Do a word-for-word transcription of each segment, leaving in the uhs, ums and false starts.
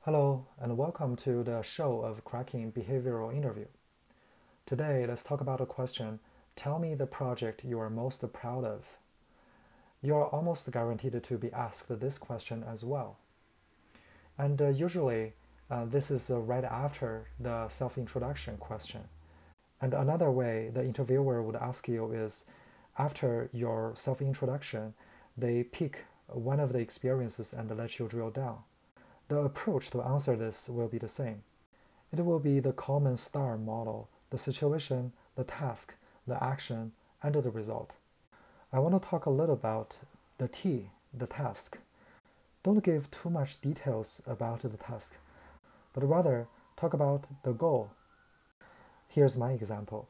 Hello, and welcome to the show of Cracking Behavioral Interview. Today, let's talk about a question. Tell me the project you are most proud of. You are almost guaranteed to be asked this question as well. And uh, usually, uh, this is uh, right after the self introduction question. And another way the interviewer would ask you is after your self introduction, they pick one of the experiences and let you drill down. The approach to answer this will be the same. It will be the common STAR model: the situation, the task, the action, and the result. I want to talk a little about the T, the task. Don't give too much details about the task, but rather talk about the goal. Here's my example.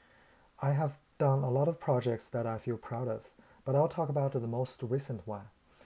I have done a lot of projects that I feel proud of, but I'll talk about the most recent one.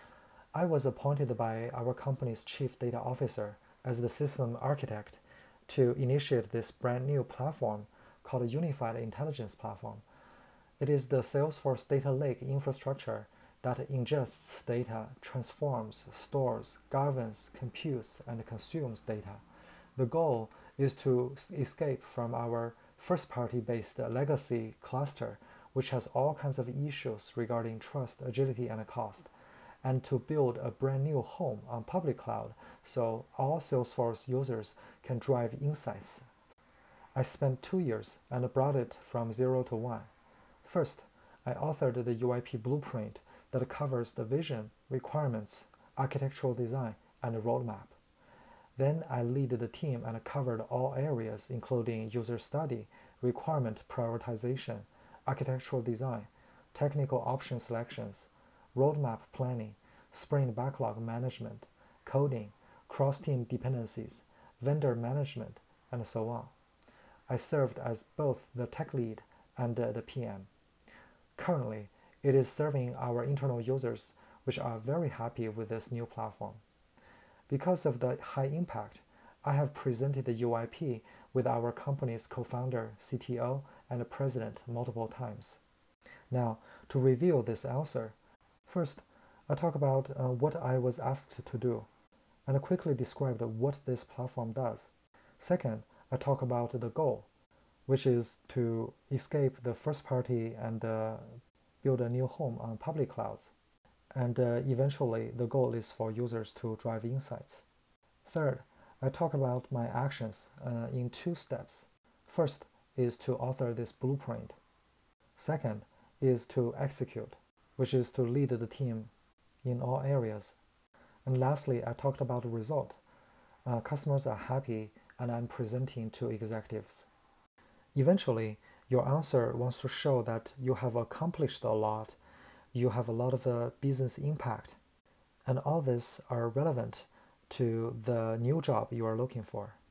I was appointed by our company's chief data officer as the system architect to initiate this brand new platform called a Unified Intelligence Platform. It is the Salesforce Data Lake infrastructure that ingests data, transforms, stores, governs, computes, and consumes data. The goal is to escape from our first-party based legacy cluster, which has all kinds of issues regarding trust, agility, and cost, and to build a brand new home on public cloud so all Salesforce users can drive insights. I spent two years and brought it from zero to one. First, I authored the U I P blueprint that covers the vision, requirements, architectural design, and roadmap. Then I lead the team and covered all areas including user study, requirement prioritization, architectural design, technical option selections, roadmap planning, sprint backlog management, coding, cross-team dependencies, vendor management, and so on. I served as both the tech lead and the P M. Currently, it is serving our internal users, which are very happy with this new platform. Because of the high impact, I have presented the U I P with our company's co-founder, C T O, and president multiple times. Now, to reveal this answer, first, I talk about uh, what I was asked to do, and quickly described what this platform does. Second, I talk about the goal, which is to escape the first party and uh, build a new home on public clouds. And uh, eventually, the goal is for users to drive insights. Third, I talk about my actions uh, in two steps. First is to author this blueprint. Second is to execute, which is to lead the team in all areas. And lastly, I talked about the result. Uh, customers are happy and I'm presenting to executives. Eventually, your answer wants to show that you have accomplished a lot, you have a lot of uh, business impact, and all this are relevant to the new job you are looking for.